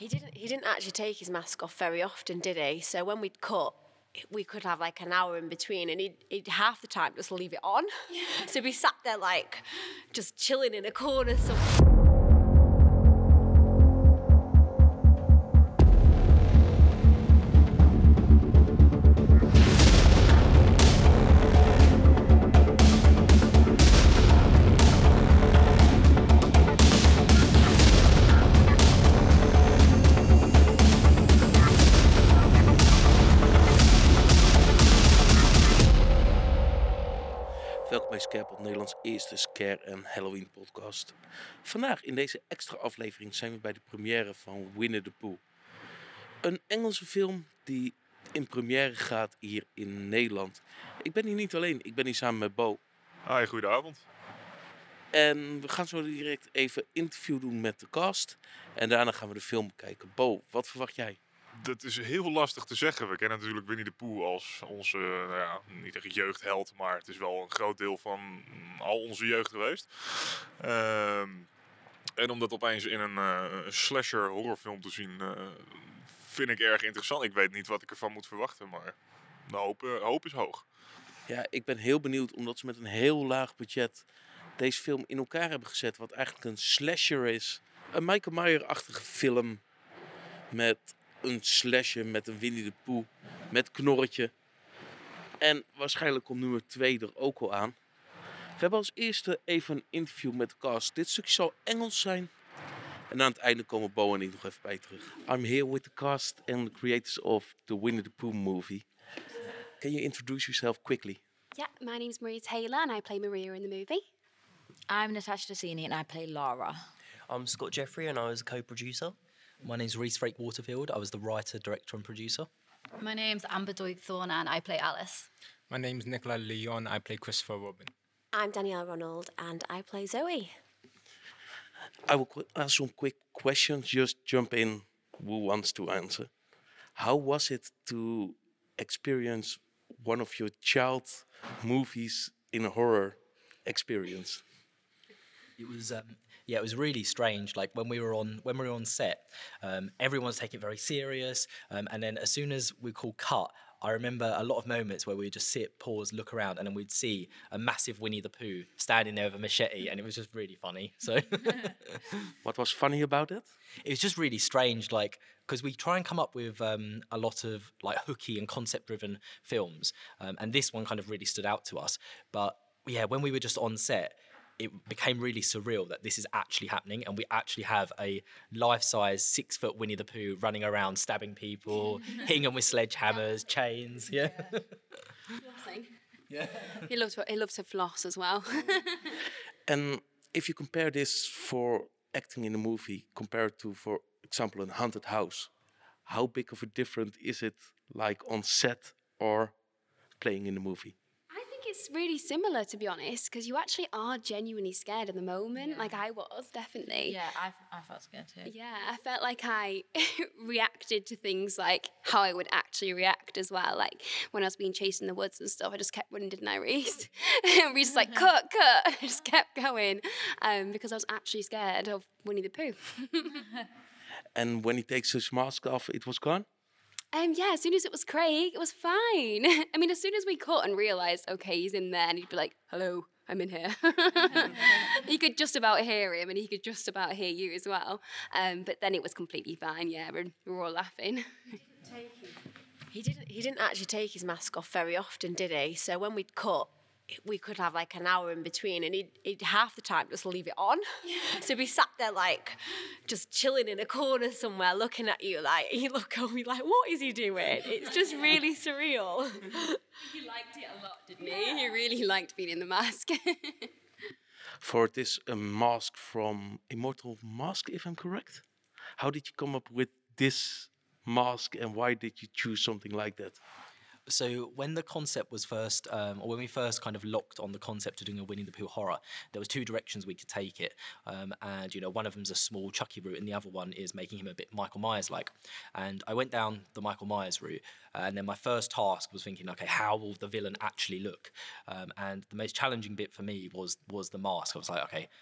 He didn't actually take his mask off very often, did he? So when we'd cut, we could have like an hour in between, and he'd half the time just leave it on. Yeah. So we sat there like just chilling in a corner somewhere. Welkom bij Scarepot, Nederlands eerste Scare en Halloween podcast. Vandaag in deze extra aflevering zijn we bij de première van Winnie the Pooh. Een Engelse film die in première gaat hier in Nederland. Ik ben hier niet alleen, ik ben hier samen met Bo. Hi, goedenavond. En we gaan zo direct even interview doen met de cast. En daarna gaan we de film bekijken. Bo, wat verwacht jij? Dat is heel lastig te zeggen. We kennen natuurlijk Winnie the Pooh als onze, niet echt jeugdheld, maar het is wel een groot deel van al onze jeugd geweest. En om dat opeens in een slasher horrorfilm te zien, vind ik erg interessant. Ik weet niet wat ik ervan moet verwachten, maar de hoop is hoog. Ja, ik ben heel benieuwd omdat ze met een heel laag budget deze film in elkaar hebben gezet. Wat eigenlijk een slasher is. Een Michael Myers-achtige film met een slasher, met een Winnie the Pooh, met Knorretje. En waarschijnlijk komt nummer 2 er ook al aan. We hebben als eerste even een interview met de cast. Dit stukje zal Engels zijn. En aan het einde komen Bo en ik nog even bij terug. I'm here with the cast and the creators of the Winnie the Pooh movie. Can you introduce yourself quickly? Yeah, my name's Maria Taylor and I play Maria in the movie. I'm Natasha Dessini and I play Lara. I'm Scott Jeffrey and I was a co-producer. My name's Reese Frake Waterfield. I was the writer, director and producer. My name's Amber Doig-Thorne and I play Alice. My name's Nicola Leon. I play Christopher Robin. I'm Danielle Ronald and I play Zoe. I will ask some quick questions. Just jump in who wants to answer. How was it to experience one of your child movies in a horror experience? It was really strange. Like when we were on set, everyone was taking it very serious. And then as soon as we called cut, I remember a lot of moments where we'd just sit, pause, look around, and then we'd see a massive Winnie the Pooh standing there with a machete, and it was just really funny. So, What was funny about it? It was just really strange, like, because we try and come up with a lot of like hooky and concept-driven films, and this one kind of really stood out to us. But yeah, when we were just on set, it became really surreal that this is actually happening, and we actually have a life-size 6-foot Winnie the Pooh running around, stabbing people, hitting them with sledgehammers, chains. Yeah. Flossing. Yeah. He loves to floss as well. And if you compare this for acting in a movie compared to, for example, a haunted house, how big of a difference is it like on set or playing in a movie? It's really similar, to be honest, because you actually are genuinely scared in the moment. Yeah. Like I was, definitely. Yeah, I felt scared too. Yeah, I felt like I reacted to things like how I would actually react as well. Like when I was being chased in the woods and stuff, I just kept running, didn't I, Reese? And Reese was like, cut. I just kept going because I was actually scared of Winnie the Pooh. And when he takes his mask off, it was gone? Yeah, as soon as it was Craig, it was fine. I mean, as soon as we cut and realised, okay, he's in there, and he'd be like, hello, I'm in here. He could just about hear him, and he could just about hear you as well. But then it was completely fine, yeah, we were all laughing. He didn't actually take his mask off very often, did he? So when we'd cut, we could have like an hour in between, and he'd half the time just leave it on. Yeah. So we sat there like just chilling in a corner somewhere, looking at you like, you look over, like, what is he doing? It's just really surreal. He liked it a lot, didn't he? He really liked being in the mask. For this mask from Immortal Mask, if I'm correct. How did you come up with this mask, and why did you choose something like that? So when the concept was first, or when we first kind of locked on the concept of doing a Winnie the Pooh horror, there was 2 directions we could take it. And, you know, one of them's a small Chucky route, and the other one is making him a bit Michael Myers-like. And I went down the Michael Myers route, and then my first task was thinking, okay, how will the villain actually look? And the most challenging bit for me was the mask. I was like, okay,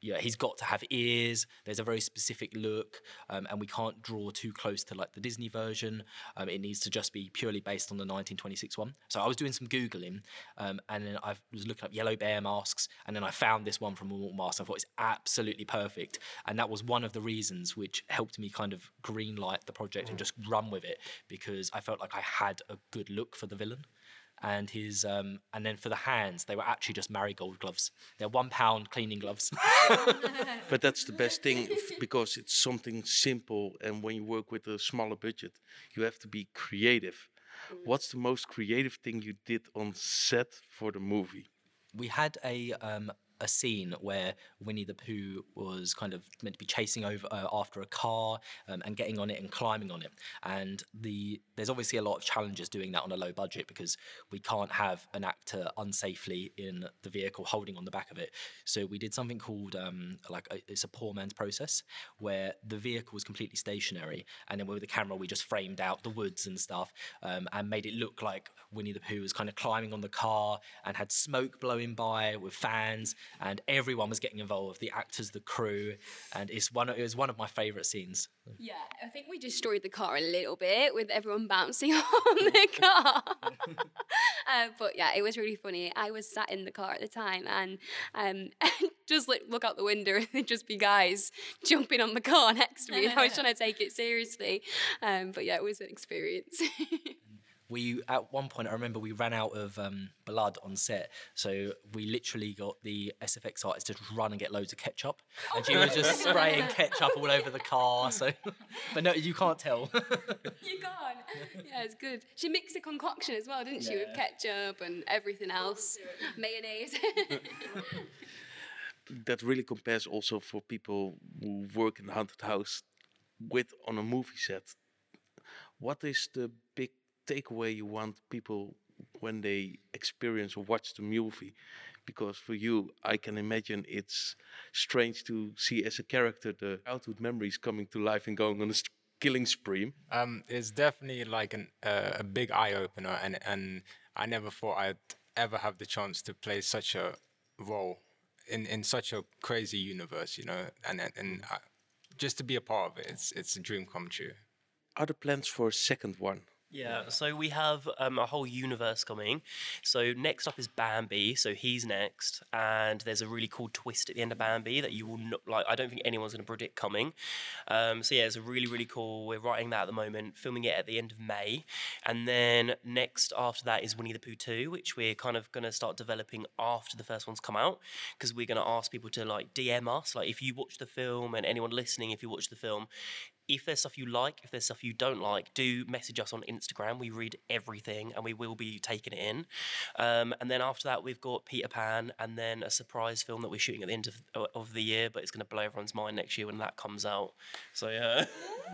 yeah, he's got to have ears. There's a very specific look, and we can't draw too close to like the Disney version. It needs to just be purely based on the 1926 one. So I was doing some Googling, and then I was looking up yellow bear masks, and then I found this one from Walmart Mask. I thought it's absolutely perfect, and that was one of the reasons which helped me kind of green light the project and just run with it, because I felt like I had a good look for the villain. And his and then for the hands, they were actually just marigold gloves. They're £1 cleaning gloves. But that's the best thing because it's something simple, and when you work with a smaller budget, you have to be creative. What's the most creative thing you did on set for the movie? We had a scene where Winnie the Pooh was kind of meant to be chasing over after a car and getting on it and climbing on it. And there's obviously a lot of challenges doing that on a low budget because we can't have an actor unsafely in the vehicle holding on the back of it. So we did something called it's a poor man's process, where the vehicle was completely stationary, and then with the camera we just framed out the woods and stuff and made it look like Winnie the Pooh was kind of climbing on the car and had smoke blowing by with fans. And everyone was getting involved, the actors, the crew, and it was one of my favourite scenes. Yeah, I think we destroyed the car a little bit with everyone bouncing on the car. But yeah, it was really funny. I was sat in the car at the time and just look out the window and there'd just be guys jumping on the car next to me, and I was trying to take it seriously. But yeah, it was an experience. We, at one point, I remember we ran out of blood on set, so we literally got the SFX artist to run and get loads of ketchup, and she was just spraying ketchup all over the car. So, but no, you can't tell. You can't. Yeah, it's good. She mixed a concoction as well, didn't she, with ketchup and everything else, mayonnaise. That really compares also for people who work in the haunted house on a movie set. What is the big takeaway you want people when they experience or watch the movie? Because for you, I can imagine it's strange to see as a character the childhood memories coming to life and going on a killing spree. It's definitely like a big eye opener, and I never thought I'd ever have the chance to play such a role in such a crazy universe, you know, and just to be a part of it, it's a dream come true. Are there plans for a second one? Yeah, so we have a whole universe coming. So next up is Bambi, so he's next, and there's a really cool twist at the end of Bambi that you will not, like, I don't think anyone's going to predict coming. So yeah, it's a really, really cool, we're writing that at the moment, filming it at the end of May, and then next after that is Winnie the Pooh 2, which we're kind of going to start developing after the first one's come out, because we're going to ask people to like DM us, like if you watch the film, and anyone listening, if you watch the film, if there's stuff you like, if there's stuff you don't like, do message us on Instagram. We read everything and we will be taking it in. And then after that, we've got Peter Pan and then a surprise film that we're shooting at the end of the year, but it's going to blow everyone's mind next year when that comes out. So, yeah.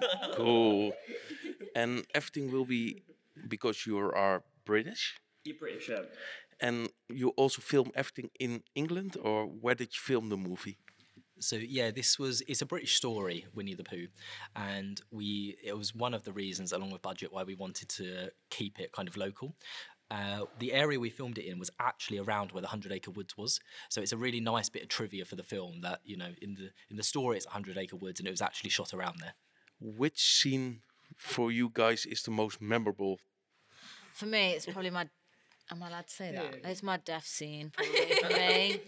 Cool. And everything will be because you are British? You're British, yeah. And you also film everything in England, or where did you film the movie? So yeah, it's a British story, Winnie the Pooh, and it was one of the reasons, along with budget, why we wanted to keep it kind of local. The area we filmed it in was actually around where the 100 Acre Woods was, so it's a really nice bit of trivia for the film that, you know, in the story it's 100 Acre Woods and it was actually shot around there. Which scene for you guys is the most memorable? For me, it's probably my... Am I allowed to say that? It's my death scene, probably, for me.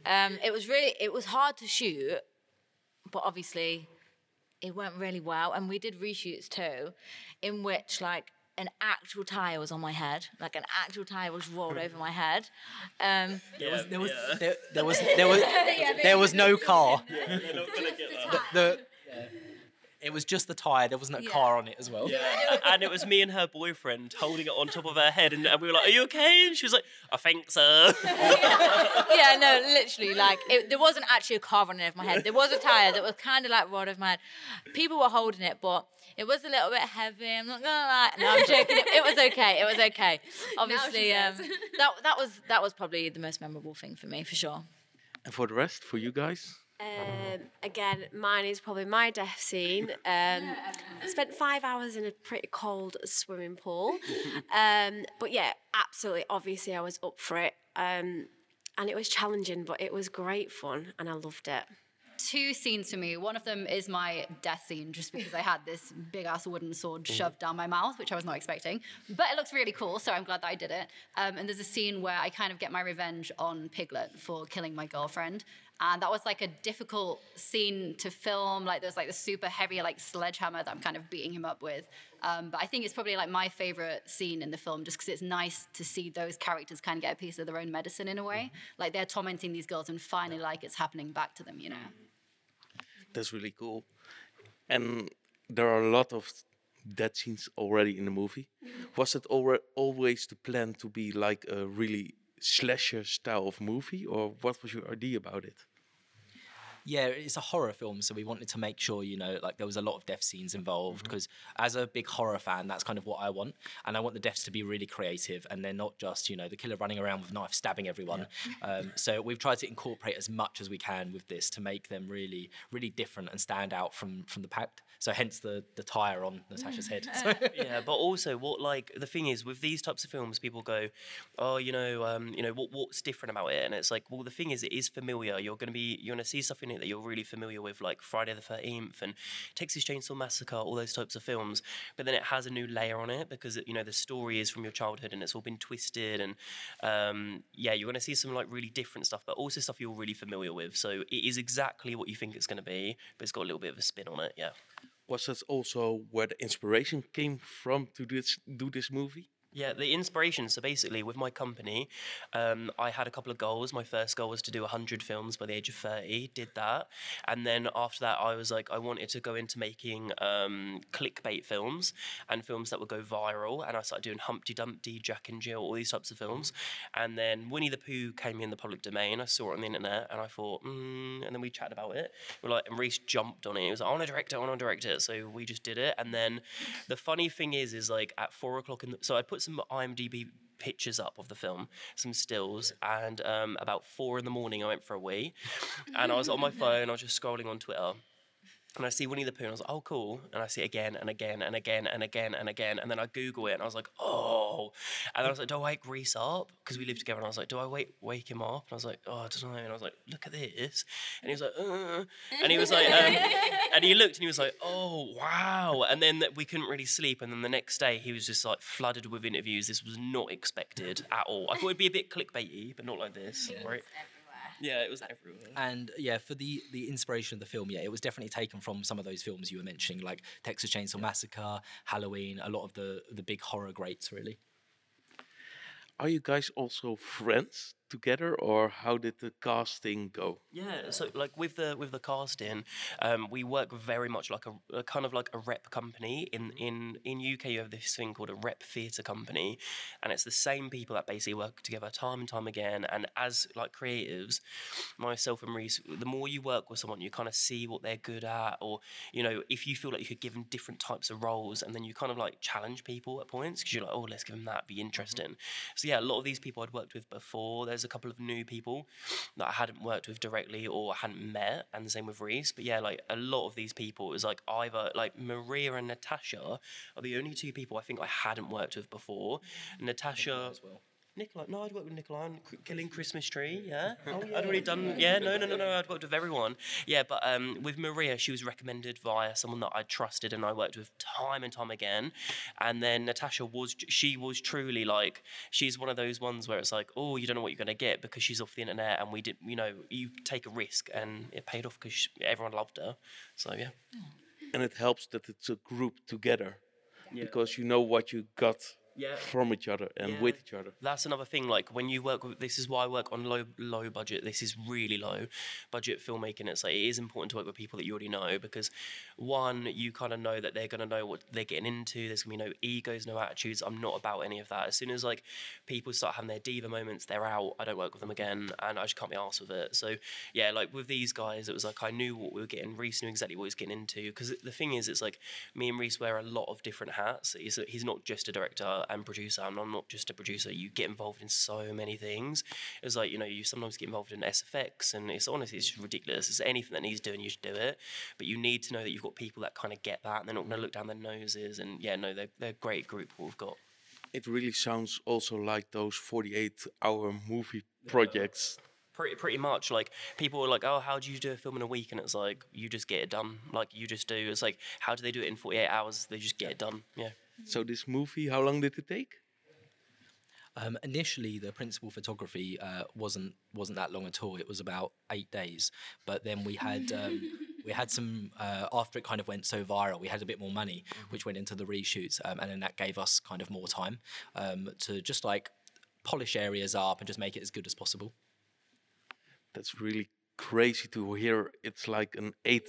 It was hard to shoot, but obviously it went really well. And we did reshoots too, in which like an actual tyre was on my head. Like an actual tyre was rolled over my head. There was no car. They're not going to get that. It was just the tyre. There wasn't a car on it as well. Yeah, and it was me and her boyfriend holding it on top of her head, and we were like, "Are you okay?" And she was like, "I think so." Yeah, no, literally, like, there wasn't actually a car on it over my head. There was a tyre that was kind of like rolled over my head. People were holding it, but it was a little bit heavy. I'm not gonna lie. No, I'm joking. It was okay. It was okay. Obviously, that was probably the most memorable thing for me, for sure. And for the rest, for you guys? Again, mine is probably my death scene. I spent 5 hours in a pretty cold swimming pool. But yeah, absolutely, obviously I was up for it. And it was challenging, but it was great fun and I loved it. two scenes for me. One of them is my death scene, just because I had this big ass wooden sword shoved down my mouth, which I was not expecting. But it looks really cool, so I'm glad that I did it. And there's a scene where I kind of get my revenge on Piglet for killing my girlfriend. And that was like a difficult scene to film. Like there's like the super heavy like sledgehammer that I'm kind of beating him up with. But I think it's probably like my favorite scene in the film, just because it's nice to see those characters kind of get a piece of their own medicine in a way. Like they're tormenting these girls and finally like it's happening back to them, you know? That's really cool. And there are a lot of death scenes already in the movie. Was it always the plan to be like a really slasher style of movie, or what was your idea about it? Yeah, it's a horror film, so we wanted to make sure, you know, like there was a lot of death scenes involved, because as a big horror fan, that's kind of what I want. And I want the deaths to be really creative, and they're not just, you know, the killer running around with a knife stabbing everyone. So we've tried to incorporate as much as we can with this to make them really, really different and stand out from the pack. So hence the tire on Natasha's head. Yeah, but also what like the thing is with these types of films, people go, oh, what's different about it? And it's like, well, the thing is, it is familiar. You're gonna see stuff in it that you're really familiar with, like Friday the 13th and Texas Chainsaw Massacre, all those types of films. But then it has a new layer on it because the story is from your childhood and it's all been twisted. And you're gonna see some like really different stuff, but also stuff you're really familiar with. So it is exactly what you think it's gonna be, but it's got a little bit of a spin on it. Yeah. Was that also where the inspiration came from to do this movie? Yeah, the inspiration. So basically, with my company, I had a couple of goals. My first goal was to do 100 films by the age of 30. Did that, and then after that, I was like, I wanted to go into making clickbait films and films that would go viral. And I started doing Humpty Dumpty, Jack and Jill, all these types of films. And then Winnie the Pooh came in the public domain. I saw it on the internet, and I thought, and then we chatted about it. And Reese jumped on it. He was like, I want to direct it. So we just did it. And then the funny thing is like at 4 o'clock so I put some IMDb pictures up of the film, some stills, and about 4 in the morning I went for a wee, and I was on my phone, I was just scrolling on Twitter, and I see Winnie the Pooh, and I was like, oh, cool. And I see it again and again and again and again and again. And then I Google it, and I was like, oh. And then I was like, do I wake Reese up? Because we live together. And I was like, do I wake him up? And I was like, oh, I don't know. And I was like, look at this. And he was like, And he was like, and he looked, and he was like, oh, wow. And then we couldn't really sleep. And then the next day, he was just like flooded with interviews. This was not expected at all. I thought it'd be a bit clickbaity, but not like this. Right? Yeah, it was everywhere. And yeah, for the inspiration of the film, yeah, it was definitely taken from some of those films you were mentioning, like Texas Chainsaw Massacre, Halloween, a lot of the big horror greats, really. Are you guys also friends together, or how did the casting go? Yeah, so like with the casting, we work very much like a kind of like a rep company. In UK, you have this thing called a rep theatre company, and it's the same people that basically work together time and time again. And as like creatives, myself and Reese, the more you work with someone, you kind of see what they're good at, or if you feel like you could give them different types of roles, and then you kind of like challenge people at points because you're like, oh, let's give them that, be interesting. So yeah, a lot of these people I'd worked with before. There's a couple of new people that I hadn't worked with directly or hadn't met, and the same with Reese. But yeah, like a lot of these people, it was like either like Maria and Natasha are the only two people I think I hadn't worked with before. Natasha as well. Nikolai, no, I'd worked with Nikolai on Killing Christmas Tree, yeah. Oh, yeah. I'd already done, yeah, no, I'd worked with everyone. Yeah, but with Maria, she was recommended via someone that I trusted and I worked with time and time again. And then Natasha was truly like, she's one of those ones where it's like, oh, you don't know what you're going to get because she's off the internet, and we did, you take a risk, and it paid off because everyone loved her. So, yeah. And it helps that it's a group together, because you know what you got from each other and with each other. That's another thing. Like when you work with, this is why I work on low budget. This is really low budget filmmaking. It's like it is important to work with people that you already know, because one, you kind of know that they're going to know what they're getting into. There's going to be no egos, no attitudes. I'm not about any of that. As soon as like people start having their diva moments, they're out. I don't work with them again, and I just can't be arsed with it. So yeah, like with these guys, it was like I knew what we were getting. Reese knew exactly what he was getting into, because the thing is, it's like me and Reese wear a lot of different hats. He's not just a director and producer, and I'm not just a producer. You get involved in so many things. It's like, you sometimes get involved in SFX, and it's honestly, it's just ridiculous. It's anything that needs doing, you should do it. But you need to know that you've got people that kind of get that, and they're not going to look down their noses. And yeah, no, they're a great group what we've got. It really sounds also like those 48-hour movie projects. Pretty much. Like, people are like, oh, how do you do a film in a week? And it's like, you just get it done. Like, you just do. It's like, how do they do it in 48 hours? They just get it done. Yeah. So this movie, how long did it take? Initially, the principal photography wasn't that long at all. It was about 8 days. But then we had some after it kind of went so viral, we had a bit more money, which went into the reshoots, and then that gave us kind of more time to just like polish areas up and just make it as good as possible. That's really crazy to hear. It's like an 8.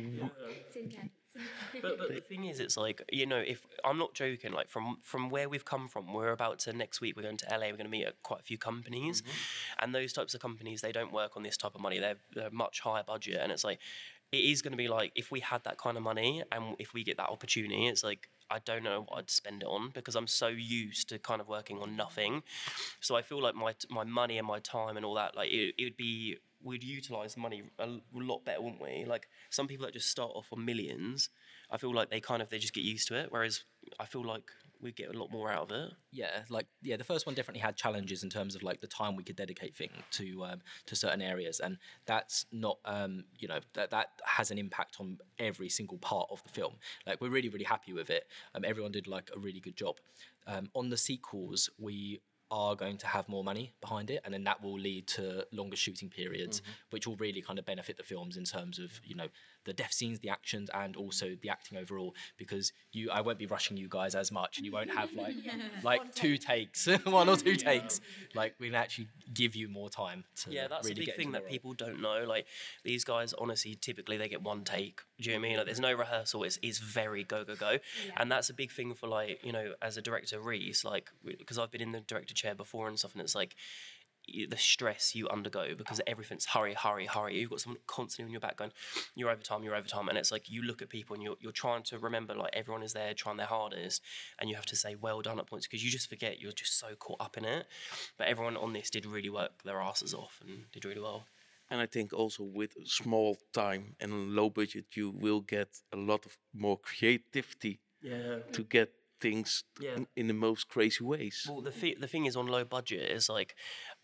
But the thing is, it's like, you know, if I'm not joking, like from where we've come from, we're about to next week we're going to LA. We're going to meet at quite a few companies, and those types of companies, they don't work on this type of money. They're much higher budget, and it's like, it is going to be like, if we had that kind of money and if we get that opportunity, it's like, I don't know what I'd spend it on, because I'm so used to kind of working on nothing. So I feel like my money and my time and all that, like it would be, we'd utilize money a lot better, wouldn't we? Like, some people that just start off on millions, I feel like they just get used to it, whereas I feel like we'd get a lot more out of it. Yeah, the first one definitely had challenges in terms of like the time we could dedicate to certain areas, and that's not that has an impact on every single part of the film. Like, we're really, really happy with it. Everyone did like a really good job. On the sequels, we are going to have more money behind it, and then that will lead to longer shooting periods, which will really kind of benefit the films in terms of, you know, the death scenes, the actions, and also the acting overall, because I won't be rushing you guys as much, and you won't have like 2 takes, 1 or 2 takes. Like, we can actually give you more time to that's really a big get thing into the that role. people don't know. Like, these guys, honestly, typically they get 1 take. Do you know what I mean? Like, there's no rehearsal. It's very go. And that's a big thing for, like, you know, as a director, Reese, like, because I've been in the director chair before and stuff, and it's like, the stress you undergo because everything's hurry. You've got someone constantly on your back going, you're over time, and it's like, you look at people and you're trying to remember, like, everyone is there trying their hardest, and you have to say well done at points because you just forget, you're just so caught up in it. But everyone on this did really work their asses off and did really well. And I think also with small time and low budget, you will get a lot of more creativity to get things in the most crazy ways. Well, the thing is, on low budget is like,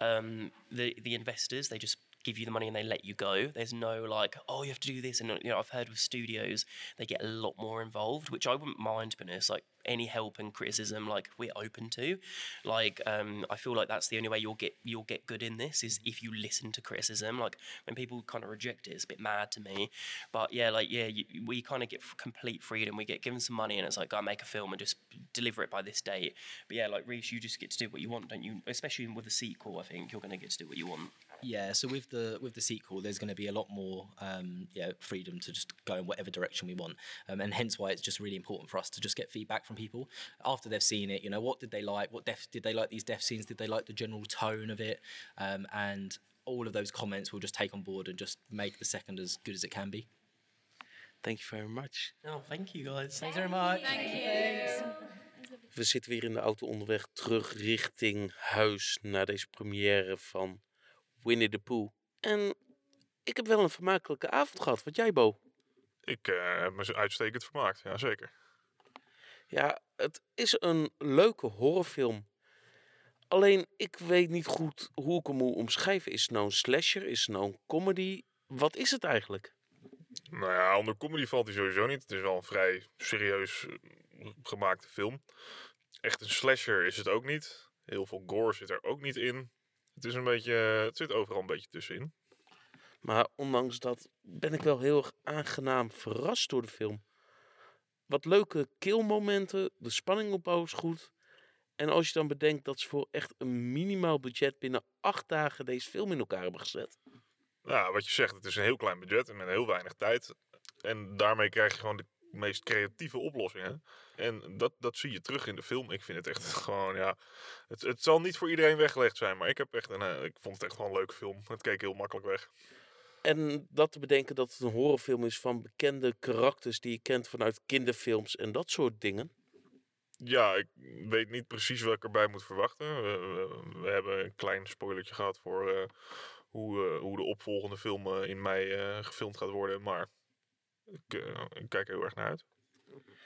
the investors, they just give you the money and they let you go. There's no like, oh, you have to do this. And, you know, I've heard with studios, they get a lot more involved, which I wouldn't mind, but it's like, any help and criticism, like, we're open to. Like, I feel like that's the only way you'll get good in this, is if you listen to criticism. Like, when people kind of reject it, it's a bit mad to me. But we kind of get complete freedom. We get given some money and it's like, go make a film and just deliver it by this date. But yeah, like, Reese, you just get to do what you want, don't you? Especially with a sequel, I think you're going to get to do what you want. Yeah, so with the sequel, there's going to be a lot more freedom to just go in whatever direction we want, and hence why it's just really important for us to just get feedback from people after they've seen it. You know, what did they like? Did they like these death scenes? Did they like the general tone of it? And all of those comments we'll just take on board and just make the second as good as it can be. Thank you very much. Oh, thank you guys. Thanks very much. Thank you. We zitten weer in de auto onderweg terug richting huis naar deze première van Winnie the Pooh. En ik heb wel een vermakelijke avond gehad. Wat jij, Bo? Ik heb me uitstekend vermaakt, ja zeker. Ja, het is een leuke horrorfilm. Alleen, ik weet niet goed hoe ik hem moet omschrijven. Is het nou een slasher? Is het nou een comedy? Wat is het eigenlijk? Nou ja, onder comedy valt hij sowieso niet. Het is wel een vrij serieus gemaakte film. Echt een slasher is het ook niet. Heel veel gore zit er ook niet in. Het is een beetje, het zit overal een beetje tussenin. Maar ondanks dat ben ik wel heel erg aangenaam verrast door de film. Wat leuke killmomenten, de spanningopbouw is goed. En als je dan bedenkt dat ze voor echt een minimaal budget binnen 8 dagen deze film in elkaar hebben gezet. Ja, wat je zegt, het is een heel klein budget en met heel weinig tijd. En daarmee krijg je gewoon de meest creatieve oplossingen. En dat zie je terug in de film. Ik vind het echt gewoon, ja... Het zal niet voor iedereen weggelegd zijn, maar ik vond het echt wel een leuke film. Het keek heel makkelijk weg. En dat te bedenken dat het een horrorfilm is van bekende karakters die je kent vanuit kinderfilms en dat soort dingen. Ja, ik weet niet precies wat ik erbij moet verwachten. We hebben een klein spoilertje gehad voor hoe de opvolgende film in mei gefilmd gaat worden. Maar ik kijk er heel erg naar uit.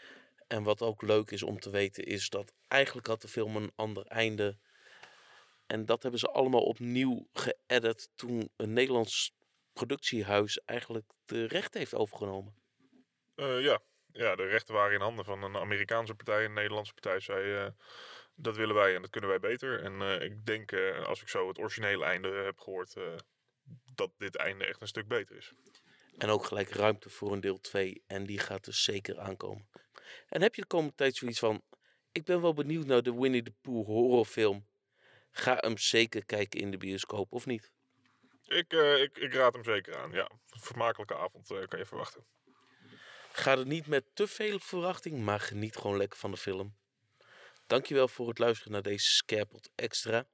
En wat ook leuk is om te weten is dat eigenlijk had de film een ander einde. En dat hebben ze allemaal opnieuw geëdit toen een Nederlands productiehuis eigenlijk de rechten heeft overgenomen. Ja, de rechten waren in handen van een Amerikaanse partij. Een Nederlandse partij zei, dat willen wij en dat kunnen wij beter. En ik denk, als ik zo het originele einde heb gehoord, dat dit einde echt een stuk beter is. En ook gelijk ruimte voor een deel 2. En die gaat dus zeker aankomen. En heb je de komende tijd zoiets van... Ik ben wel benieuwd naar de Winnie the Pooh horrorfilm. Ga hem zeker kijken in de bioscoop, of niet? Ik raad hem zeker aan, ja. Een vermakelijke avond kan je verwachten. Ga er niet met te veel verwachting, maar geniet gewoon lekker van de film. Dankjewel voor het luisteren naar deze Scarepot Extra.